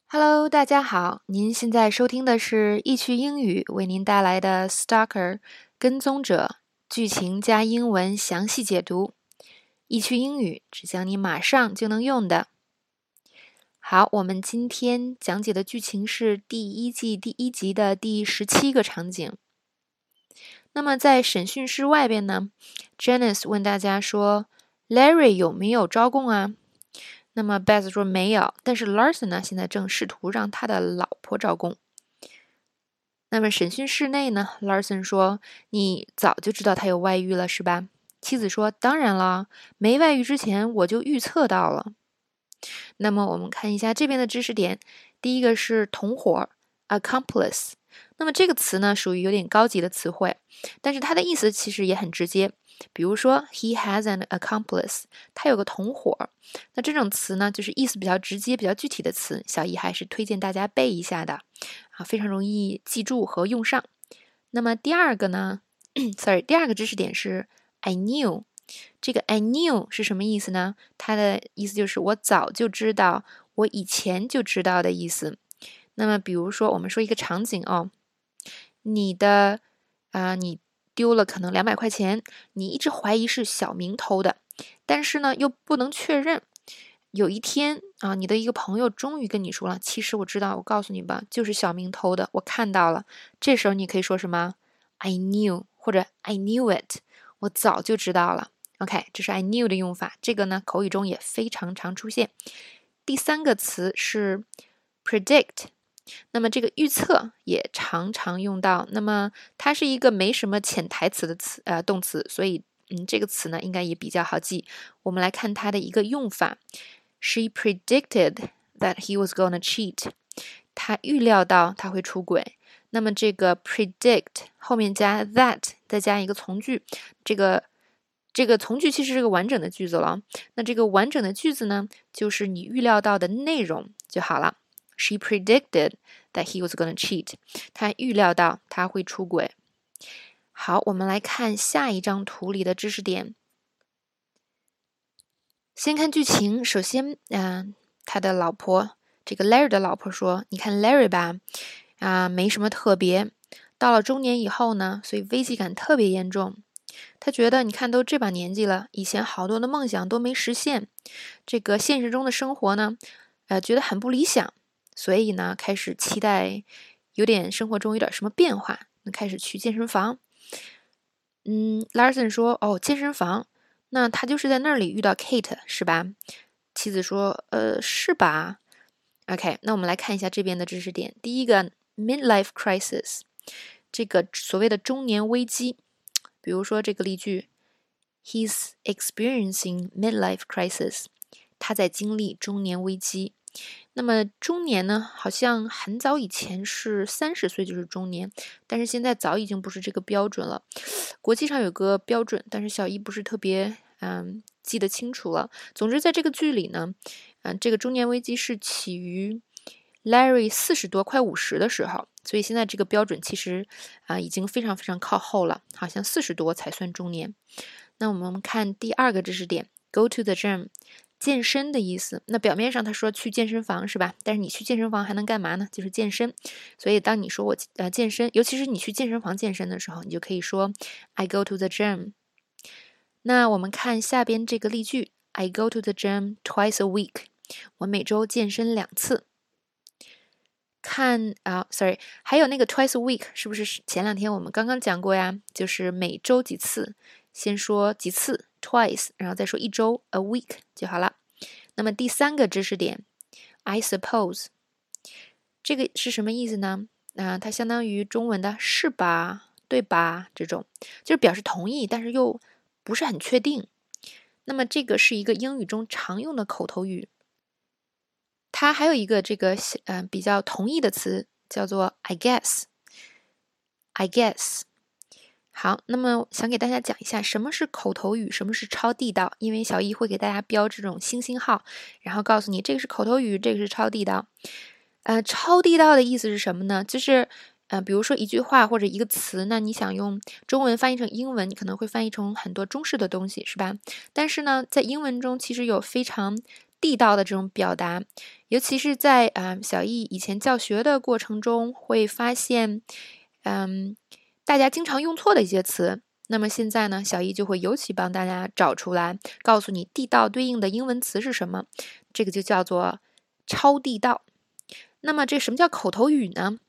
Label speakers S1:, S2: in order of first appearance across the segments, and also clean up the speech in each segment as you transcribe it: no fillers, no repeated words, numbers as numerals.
S1: Hello，大家好，您现在收听的是易趣英语为您带来的 Stalker 跟踪者剧情加英文详细解读。易趣英语只讲你马上就能用的。好，我们今天讲解的剧情是第一季第1集的第17个场景。那么在审讯室外边呢 ，Janice 问大家说 ，Larry 有没有招供啊？那么 Beth 说没有，但是 Larson 呢，现在正试图让他的老婆招供。那么审讯室内呢 ，Larson 说：“你早就知道他有外遇了，是吧？”妻子说：“当然了，没外遇之前我就预测到了。”那么我们看一下这边的知识点，第一个是同伙 accomplice。那么这个词呢，属于有点高级的词汇，但是它的意思其实也很直接。比如说 he has an accomplice， 他有个同伙。那这种词呢，就是意思比较直接、比较具体的词，小易还是推荐大家背一下的啊，非常容易记住和用上。那么第二个呢第二个知识点是 I knew。这个 I knew 是什么意思呢？它的意思就是我早就知道，我以前就知道的意思。那么比如说我们说一个场景哦，你丢了可能200块钱，你一直怀疑是小明偷的，但是呢又不能确认。有一天啊，你的一个朋友终于跟你说了，其实我知道，我告诉你吧，就是小明偷的，我看到了。这时候你可以说什么 I knew 或者 I knew it， 我早就知道了。OK， 这是 I knew 的用法，这个呢口语中也非常常出现。第三个词是 predict， 那么这个预测也常常用到，那么它是一个没什么潜台词的动词，所以这个词呢应该也比较好记。我们来看它的一个用法 ，She predicted that he was gonna cheat， 她预料到他会出轨。那么这个 predict 后面加 that， 再加一个从句，这个从句其实是个完整的句子了。那这个完整的句子呢，就是你预料到的内容就好了。She predicted that he was gonna cheat。她预料到他会出轨。好，我们来看下一张图里的知识点。先看剧情，首先，他的老婆，这个 Larry 的老婆说：“你看 Larry 吧，没什么特别。到了中年以后呢，所以危机感特别严重。他觉得，你看都这把年纪了，以前好多的梦想都没实现，这个现实中的生活呢，觉得很不理想，所以呢，开始期待生活中有点什么变化，开始去健身房。Larson 说：哦，健身房。”那他就是在那里遇到 Kate 是吧？妻子说是吧 OK， 那我们来看一下这边的知识点。第一个 midlife crisis， 这个所谓的中年危机，比如说这个例句 He's experiencing midlife crisis， 他在经历中年危机。那么中年呢，好像很早以前是30岁就是中年，但是现在早已经不是这个标准了。国际上有个标准，但是小易不是特别记得清楚了。总之在这个剧里呢，这个中年危机是起于 Larry 40多快50的时候，所以现在这个标准其实已经非常非常靠后了，好像40多才算中年。那我们看第二个知识点 Go to the gym，健身的意思，那表面上他说去健身房是吧？但是你去健身房还能干嘛呢？就是健身。所以当你说我健身，尤其是你去健身房健身的时候，你就可以说 I go to the gym。那我们看下边这个例句 I go to the gym twice a week， 我每周健身2次。还有那个 twice a week 是不是前2天我们刚刚讲过呀？就是每周几次，先说几次 twice， 然后再说一周 a week 就好了。那么第三个知识点 I suppose， 这个是什么意思呢？它相当于中文的是吧对吧这种，就是表示同意但是又不是很确定。那么这个是一个英语中常用的口头语，它还有一个比较同义的词叫做 I guess。 好，那么想给大家讲一下什么是口头语，什么是超地道，因为小易会给大家标这种星星号，然后告诉你这个是口头语，这个是超地道。超地道的意思是什么呢？就是比如说一句话或者一个词，那你想用中文翻译成英文，你可能会翻译成很多中式的东西，是吧？但是呢，在英文中其实有非常地道的这种表达，尤其是在小易以前教学的过程中，会发现，大家经常用错的一些词。那么现在呢，小易就会尤其帮大家找出来，告诉你地道对应的英文词是什么，这个就叫做超地道。那么这什么叫口头语呢？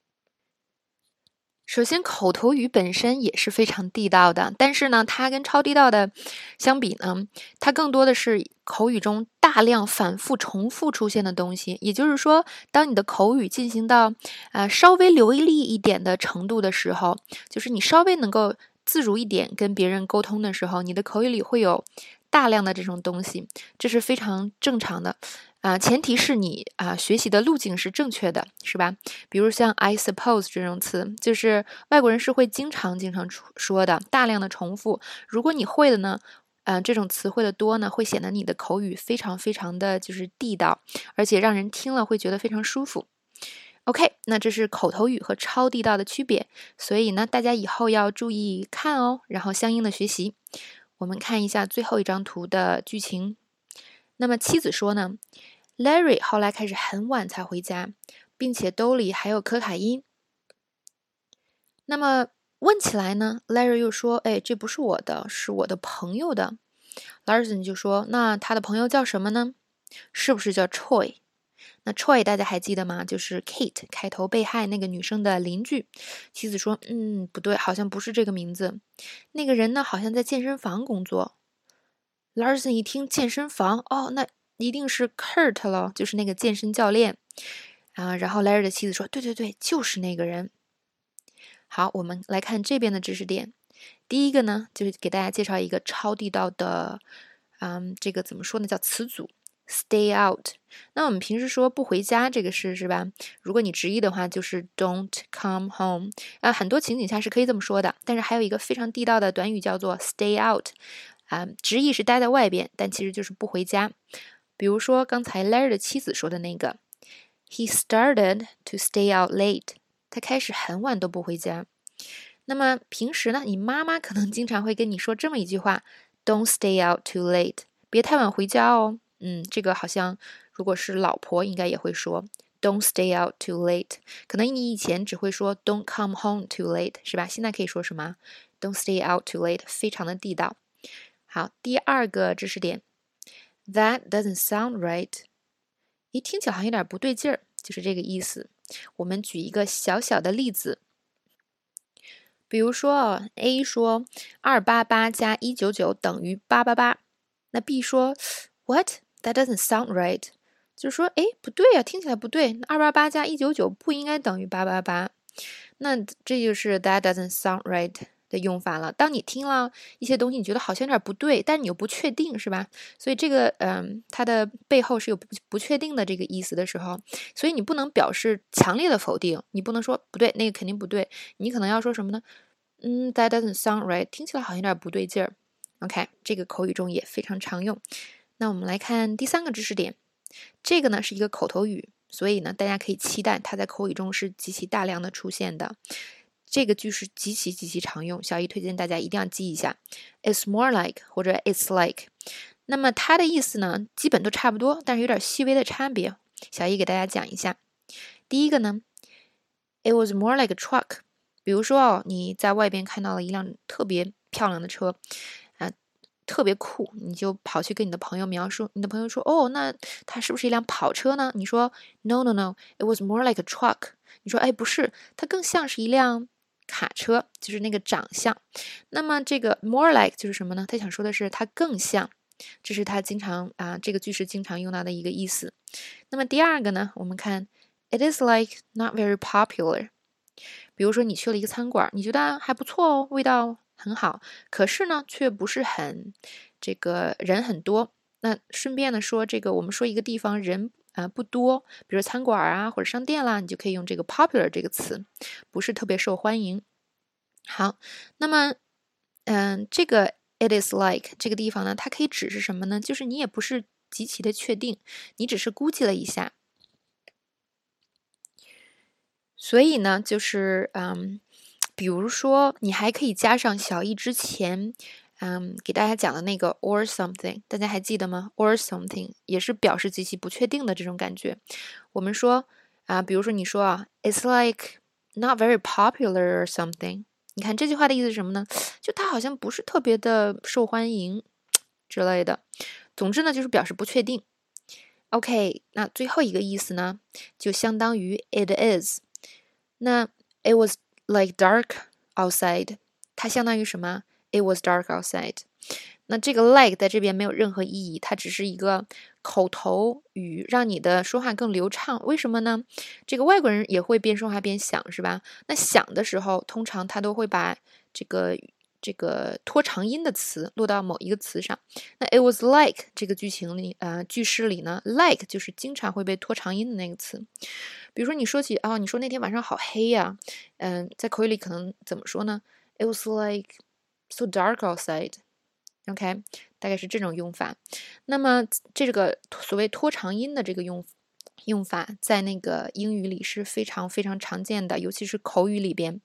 S1: 首先，口头语本身也是非常地道的，但是呢，它跟超地道的相比呢，它更多的是口语中大量反复重复出现的东西。也就是说，当你的口语进行到稍微流利一点的程度的时候，就是你稍微能够自如一点跟别人沟通的时候，你的口语里会有大量的这种东西，这是非常正常的。前提是你学习的路径是正确的，是吧？比如像 I suppose 这种词，就是外国人是会经常说的，大量的重复。如果你会了呢，这种词汇的多呢，会显得你的口语非常非常的就是地道，而且让人听了会觉得非常舒服。OK，那这是口头语和超地道的区别，所以呢，大家以后要注意看哦，然后相应的学习。我们看一下最后一张图的剧情。那么妻子说呢 ，Larry 后来开始很晚才回家，并且兜里还有可卡因。那么问起来呢 ，Larry 又说：“哎，这不是我的，是我的朋友的。” Larson 就说：“那他的朋友叫什么呢？是不是叫 Troy？” 那 Troy 大家还记得吗？就是 Kate 开头被害那个女生的邻居。妻子说：“不对，好像不是这个名字。那个人呢，好像在健身房工作。” Larson 一听健身房，哦，那一定是 Kurt 了，就是那个健身教练然后 Larry 的妻子说：“对对对，就是那个人。”好，我们来看这边的知识点。第一个呢，就是给大家介绍一个超地道的，这个怎么说呢？叫词组 stay out。那我们平时说不回家这个是吧？如果你直译的话，就是 don't come home。很多情景下是可以这么说的，但是还有一个非常地道的短语叫做 stay out。直译是待在外边，但其实就是不回家。比如说刚才 Larry 的妻子说的那个 ，He started to stay out late。他开始很晚都不回家。那么平时呢，你妈妈可能经常会跟你说这么一句话 ：“Don't stay out too late。”别太晚回家哦。这个好像如果是老婆应该也会说 “Don't stay out too late”。可能你以前只会说 “Don't come home too late”，是吧？现在可以说什么 “Don't stay out too late”，非常的地道。好，第二个知识点 ，That doesn't sound right。一听起来好像有点不对劲儿，就是这个意思。我们举一个小小的例子，比如说 A 说288加199等于888，那 B 说 What? That doesn't sound right。就是说，哎，不对呀，听起来不对。288加199不应该等于888。那这就是 That doesn't sound right的用法了。当你听了一些东西，你觉得好像有点不对，但是你又不确定，是吧？所以这个它的背后是有不确定的这个意思的时候，所以你不能表示强烈的否定，你不能说不对，那个肯定不对，你可能要说什么呢？That doesn't sound right，听起来好像有点不对劲儿。OK，这个口语中也非常常用。那我们来看第三个知识点，这个呢是一个口头语，所以呢大家可以期待它在口语中是极其大量的出现的。这个句式极其常用，小姨推荐大家一定要记一下 ，It's more like 或者 It's like。那么它的意思呢，基本都差不多，但是有点细微的差别。小姨给大家讲一下。第一个呢 ，It was more like a truck。比如说你在外边看到了一辆特别漂亮的车，特别酷，你就跑去跟你的朋友描述，你的朋友说，哦，那它是不是一辆跑车呢？你说 No, it was more like a truck。你说，哎，不是，它更像是一辆卡车，就是那个长相。那么这个 more like 就是什么呢？他想说的是它更像，这是他经常这个句式经常用到的一个意思。那么第二个呢，我们看 It is like not very popular。比如说你去了一个餐馆，你觉得还不错哦，味道很好，可是呢，却不是很这个人很多。那顺便的说，这个我们说一个地方人不多，比如餐馆或者商店啦，你就可以用这个 popular 这个词，不是特别受欢迎。好，那么这个 it is like 这个地方呢，它可以指是什么呢？就是你也不是极其的确定，你只是估计了一下。所以呢，就是比如说你还可以加上小易之前给大家讲的那个 or something， 大家还记得吗？ or something 也是表示极其不确定的这种感觉。我们说比如说你说it's like not very popular or something， 你看这句话的意思是什么呢？就它好像不是特别的受欢迎之类的。总之呢，就是表示不确定。OK， 那最后一个意思呢，就相当于 it is。那 it was like dark outside， 它相当于什么？ It was dark outside。那这个 like 在这边没有任何意义，它只是一个口头语，让你的说话更流畅。为什么呢？这个外国人也会边说话边想，是吧？那想的时候，通常他都会把这个拖长音的词落到某一个词上。那 it was like 这个句式里呢 like 就是经常会被拖长音的那个词。比如说你说起你说那天晚上好黑呀，在口语里可能怎么说呢？ It was like so dark outside。OK， 大概是这种用法。那么这个所谓拖长音的这个用法，在那个英语里是非常非常常见的，尤其是口语里边。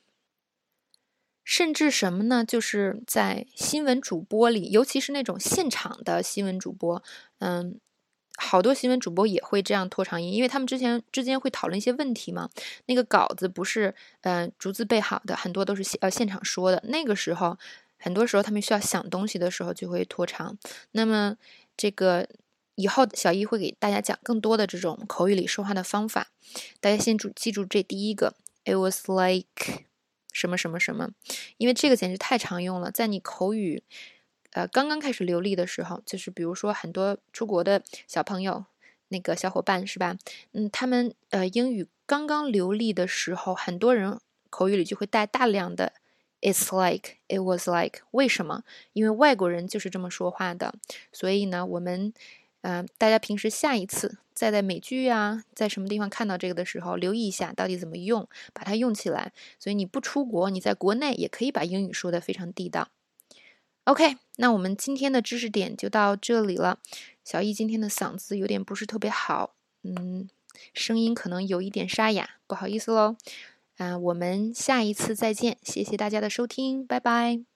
S1: 甚至什么呢？就是在新闻主播里，尤其是那种现场的新闻主播，好多新闻主播也会这样拖长音，因为他们之间会讨论一些问题嘛。那个稿子不是逐字备好的，很多都是现场说的。那个时候，很多时候他们需要想东西的时候就会拖长。那么这个以后小易会给大家讲更多的这种口语里说话的方法。大家先记住这第一个 ，It was like 什么什么什么，因为这个简直太常用了，在你口语刚刚开始流利的时候，就是比如说很多出国的小朋友，那个小伙伴是吧？他们英语刚刚流利的时候，很多人口语里就会带大量的 it's like it was like， 为什么？因为外国人就是这么说话的，所以呢，我们大家平时下一次再在美剧在什么地方看到这个的时候，留意一下到底怎么用，把它用起来。所以你不出国，你在国内也可以把英语说得非常地道。OK， 那我们今天的知识点就到这里了。小易今天的嗓子有点不是特别好，声音可能有一点沙哑，不好意思喽。我们下一次再见，谢谢大家的收听，拜拜。